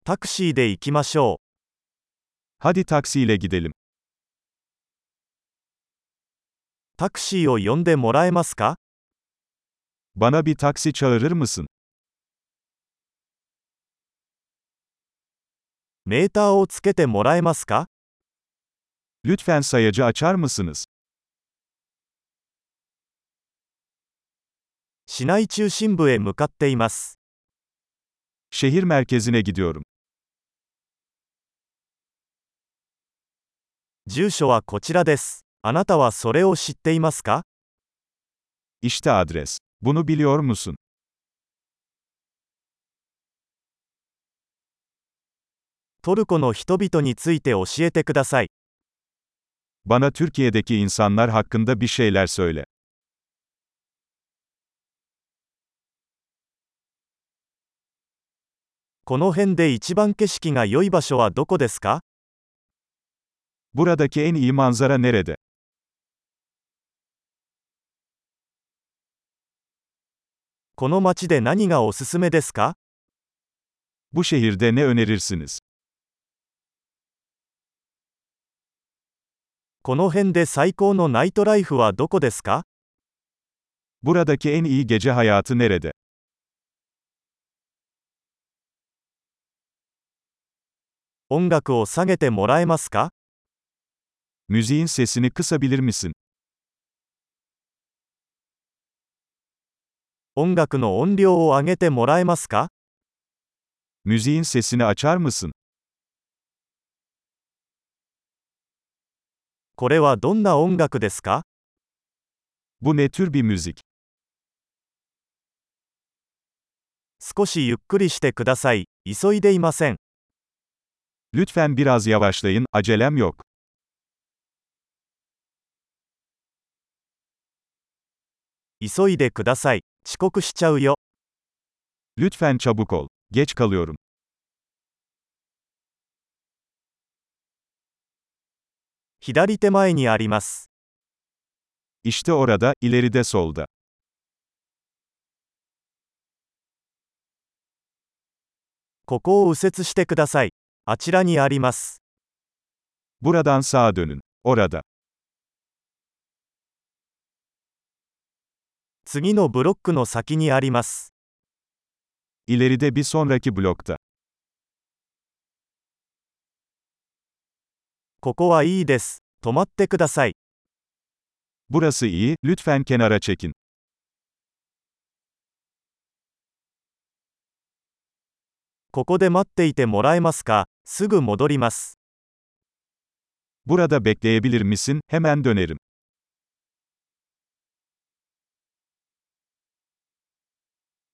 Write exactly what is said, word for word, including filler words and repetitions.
タクシーで行きましょう。 Hadi taksiyle gidelim. タクシーを呼んでもらえますか？ Bana bir taksi çağırır mısın? メーターをつけてもらえますか？ Lütfen sayacı açar mısınız? 市内中心部へ向かっています。 Şehir merkezine gidiyorum. 住所はこちらです。あなたはそれを知っていますか？ İşte adres. Bunu biliyor musun? トルコの人々について教えてください。 Bana Türkiye'deki insanlar hakkında bir şeyler söyle. この辺で一番景色が良い場所はどこですか？ Buradaki en iyi manzara nerede? この街で何がおすすめですか？ Bu şehirde ne önerirsiniz? この辺で最高のナイトライフはどこですか？ Buradaki en iyi gece hayatı nerede? 音楽を下げてもらえますか？ Müziğin sesini kısabilir misin? 音楽の音量を上げてもらえますか？ Müziğin sesini açar mısın? これはどんな音楽ですか？ Bu ne tür bir müzik? 少しゆっくりしてください。急いでいません。 Lütfen biraz yavaşlayın, acelem yok. 急いでください。遅刻しちゃうよ。 Lütfen çabuk ol. Geç kalıyorum. 左手前にあります。 İşte orada, ileride solda. ここを右折してください。あちらにあります。 Buradan sağa dönün. Orada. 次のブロックの先にあります。 İleride bir sonraki blokta. ここはいいです。止まってください。 Burası iyi, lütfen kenara çekin. ここで待っていてもらえますか？すぐ戻ります。 Burada bekleyebilir misin? Hemen dönerim.